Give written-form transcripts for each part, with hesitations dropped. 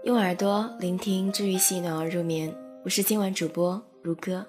用耳朵聆听治愈系暖而入眠，我是今晚主播如歌。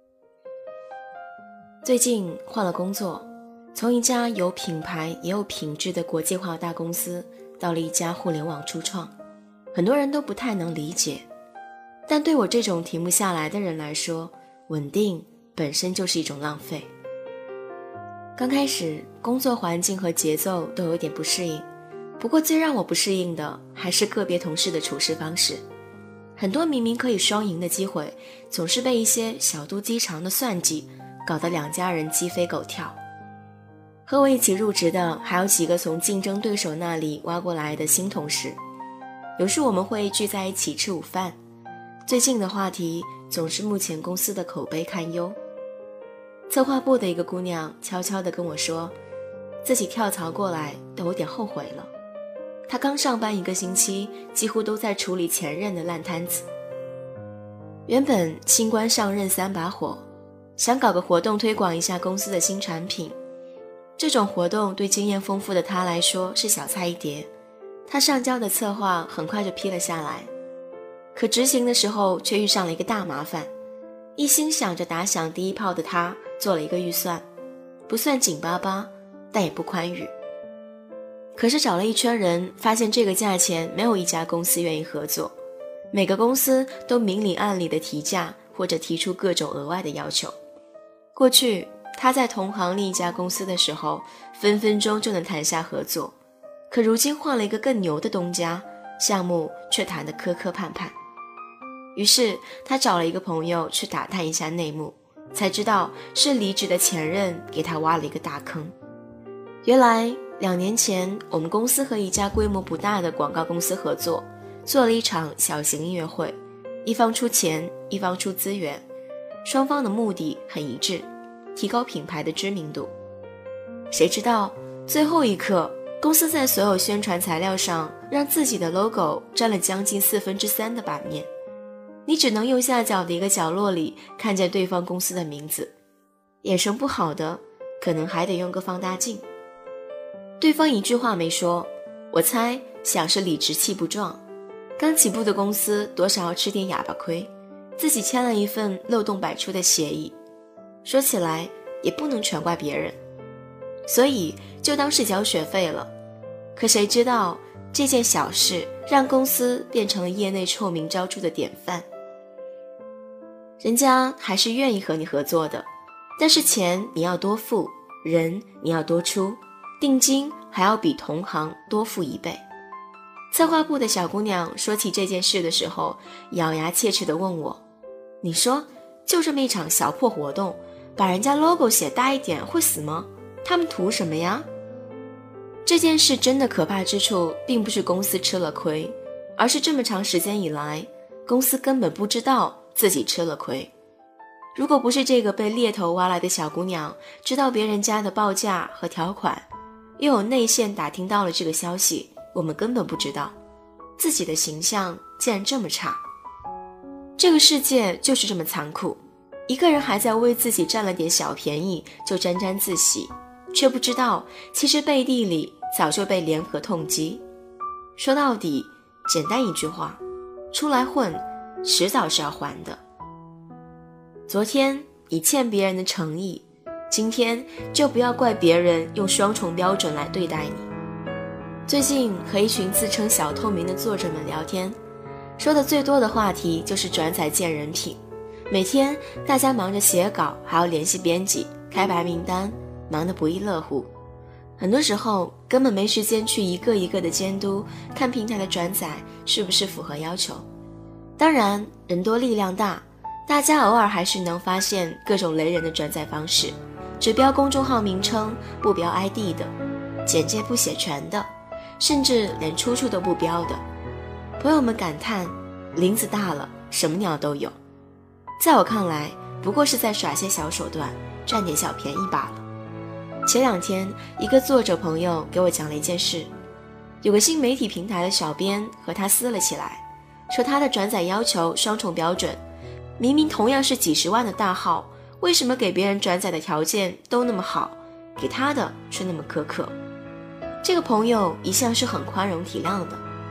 最近换了工作，从一家有品牌也有品质的国际化大公司到了一家互联网初创，很多人都不太能理解，但对我这种停不下来的人来说，稳定本身就是一种浪费。刚开始工作环境和节奏都有点不适应，不过最让我不适应的还是个别同事的处事方式。很多明明可以双赢的机会，总是被一些小肚鸡肠的算计搞得两家人鸡飞狗跳。和我一起入职的还有几个从竞争对手那里挖过来的新同事，有时我们会聚在一起吃午饭，最近的话题总是目前公司的口碑堪忧。策划部的一个姑娘悄悄地跟我说，自己跳槽过来都有点后悔了。她刚上班1个星期，几乎都在处理前任的烂摊子。原本新官上任3把火，想搞个活动推广一下公司的新产品。这种活动对经验丰富的她来说是小菜一碟，她上交的策划很快就批了下来。可执行的时候却遇上了一个大麻烦，一心想着打响第一炮的她做了一个预算，不算紧巴巴，但也不宽裕。可是找了一圈人，发现这个价钱没有一家公司愿意合作，每个公司都明里暗里的提价或者提出各种额外的要求。过去他在同行另一家公司的时候，分分钟就能谈下合作，可如今换了一个更牛的东家，项目却谈得磕磕绊绊。于是他找了一个朋友去打探一下内幕，才知道是离职的前任给他挖了一个大坑。原来2年前我们公司和一家规模不大的广告公司合作，做了一场小型音乐会，一方出钱，一方出资源，双方的目的很一致，提高品牌的知名度。谁知道最后一刻，公司在所有宣传材料上让自己的 logo 占了将近3/4的版面，你只能右下角的一个角落里看见对方公司的名字，眼神不好的可能还得用个放大镜。对方一句话没说，我猜想是理直气不壮，刚起步的公司多少要吃点哑巴亏，自己签了一份漏洞百出的协议。说起来也不能全怪别人，所以就当是交学费了。可谁知道这件小事让公司变成了业内臭名昭著的典范。人家还是愿意和你合作的，但是钱你要多付，人你要多出，定金还要比同行多付1倍。策划部的小姑娘说起这件事的时候，咬牙切齿地问我，你说就这么一场小破活动，把人家 logo 写大一点会死吗？他们图什么呀？这件事真的可怕之处并不是公司吃了亏，而是这么长时间以来，公司根本不知道自己吃了亏。如果不是这个被猎头挖来的小姑娘知道别人家的报价和条款，又有内线打听到了这个消息，我们根本不知道自己的形象竟然这么差。这个世界就是这么残酷，一个人还在为自己占了点小便宜就沾沾自喜，却不知道其实背地里早就被联合痛击。说到底，简单一句话，出来混迟早是要还的。昨天你欠别人的诚意，今天就不要怪别人用双重标准来对待你。最近和一群自称小透明的作者们聊天，说的最多的话题就是转载见人品。每天大家忙着写稿，还要联系编辑，开白名单，忙得不亦乐乎。很多时候根本没时间去一个一个的监督，看平台的转载是不是符合要求。当然人多力量大，大家偶尔还是能发现各种雷人的转载方式，只标公众号名称不标 ID 的，简介不写全的，甚至连出处都不标的。朋友们感叹，林子大了，什么鸟都有。在我看来，不过是在耍些小手段，占点小便宜罢了。前2天，一个作者朋友给我讲了一件事，有个新媒体平台的小编和他撕了起来，说他的转载要求双重标准，明明同样是几十万的大号，为什么给别人转载的条件都那么好，给他的却那么苛刻？这个朋友一向是很宽容体谅的，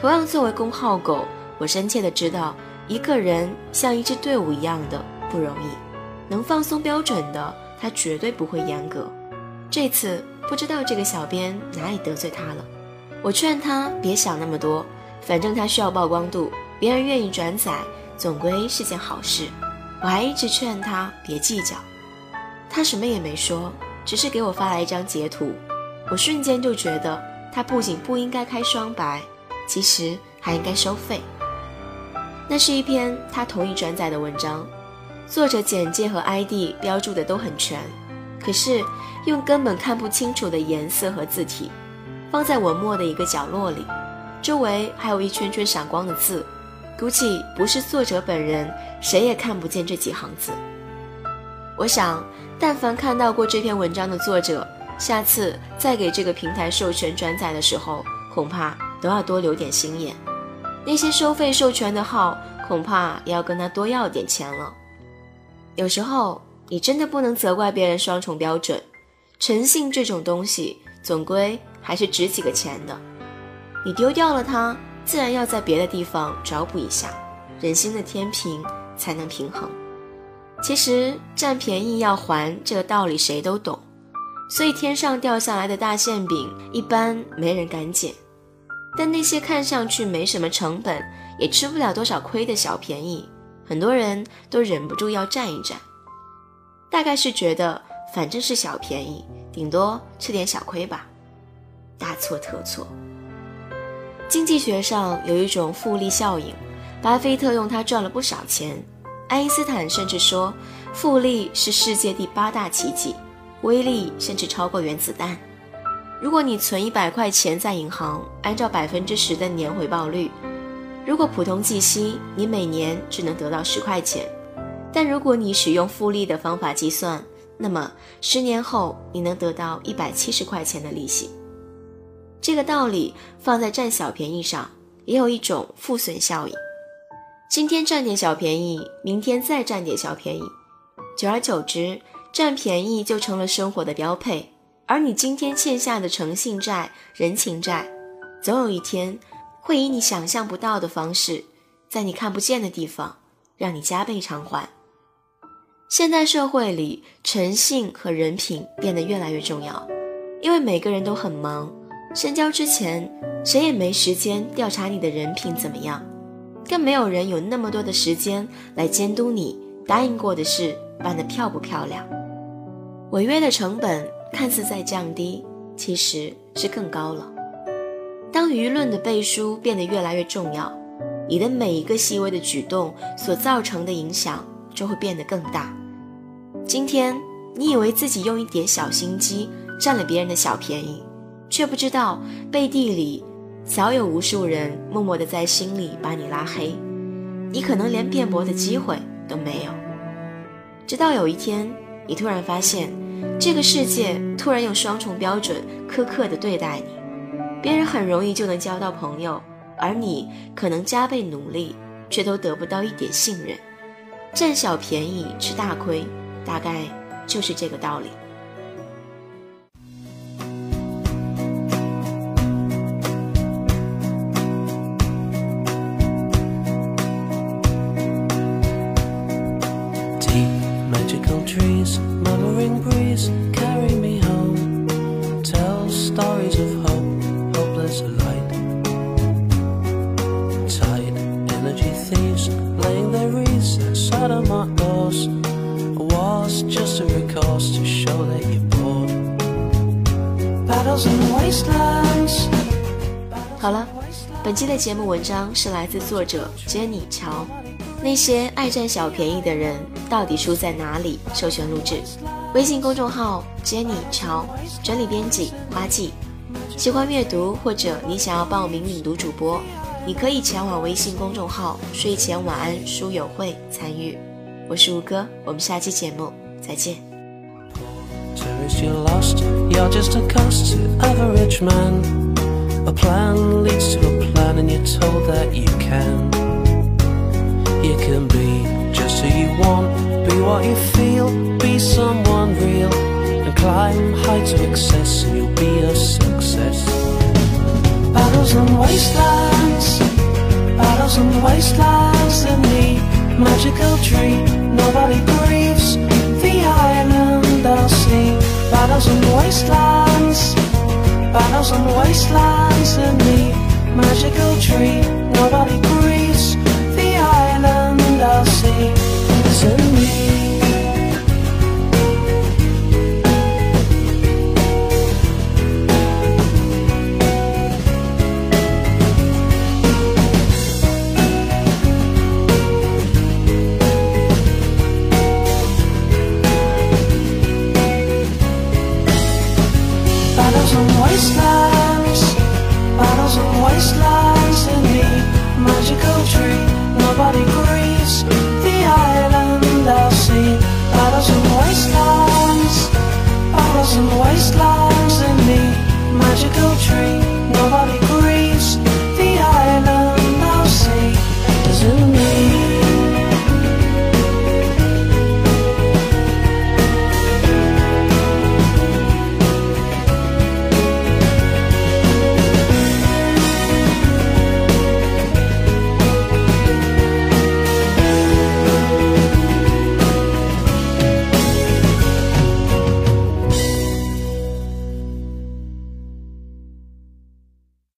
同样作为公号狗，我深切地知道一个人像一支队伍一样的不容易，能放松标准的他绝对不会严格。这次不知道这个小编哪里得罪他了，我劝他别想那么多，反正他需要曝光度，别人愿意转载总归是件好事。我还一直劝他别计较，他什么也没说，只是给我发来一张截图。我瞬间就觉得他不仅不应该开双白，其实还应该收费。那是一篇他同意转载的文章，作者简介和 ID 标注的都很全，可是用根本看不清楚的颜色和字体放在文末的一个角落里，周围还有一圈圈闪光的字，估计不是作者本人，谁也看不见这几行字。我想但凡看到过这篇文章的作者，下次再给这个平台授权转载的时候，恐怕都要多留点心眼。那些收费授权的号，恐怕也要跟他多要点钱了。有时候你真的不能责怪别人双重标准，诚信这种东西总归还是值几个钱的，你丢掉了它，自然要在别的地方找补一下，人心的天平才能平衡。其实占便宜要还这个道理谁都懂，所以天上掉下来的大馅饼一般没人敢捡，但那些看上去没什么成本也吃不了多少亏的小便宜，很多人都忍不住要占一占。大概是觉得反正是小便宜，顶多吃点小亏吧，大错特错。经济学上有一种复利效应，巴菲特用它赚了不少钱，爱因斯坦甚至说复利是世界第8大奇迹，威力甚至超过原子弹。如果你存100块钱在银行，按照10%的年回报率，如果普通计息，你每年只能得到10块钱，但如果你使用复利的方法计算，那么10年后你能得到170块钱的利息。这个道理放在占小便宜上，也有一种负损效应。今天占点小便宜，明天再占点小便宜，久而久之，占便宜就成了生活的标配。而你今天欠下的诚信债、人情债，总有一天会以你想象不到的方式，在你看不见的地方让你加倍偿还。现代社会里，诚信和人品变得越来越重要，因为每个人都很忙，深交之前谁也没时间调查你的人品怎么样，更没有人有那么多的时间来监督你答应过的事办得漂不漂亮。违约的成本看似在降低，其实是更高了。当舆论的背书变得越来越重要，你的每一个细微的举动所造成的影响就会变得更大。今天你以为自己用一点小心机占了别人的小便宜，却不知道背地里早有无数人默默地在心里把你拉黑，你可能连辩驳的机会都没有。直到有一天你突然发现，这个世界突然用双重标准苛刻地对待你，别人很容易就能交到朋友，而你可能加倍努力却都得不到一点信任。占小便宜吃大亏，大概就是这个道理。 Trees, murmuring breeze, carry me home. Tell stories of hope, hopeless light. Tide, energy thieves, laying their wreaths outside of my doors. A war's just a recourse to show that you're bored. Battles in the wastelands. 好了，本期的节目文章是来自作者 Jenny 乔。那些爱占小便宜的人到底输在哪里？授权录制，微信公众号 Jenny 乔，整理编辑花季。喜欢阅读或者你想要报名领读主播，你可以前往微信公众号睡前晚安书友会参与。我是吴哥，我们下期节目再见。 You're lost, you're just a cost to average man. A plan leads to a plan and you're told that you can.You can be just who you want, be what you feel, be someone real, and climb heights of excess and you'll be a success. Battles on wastelands, battles on wastelands in the magical tree. Nobody grieves the island I'll see. Battles on wastelands, battles on wastelands.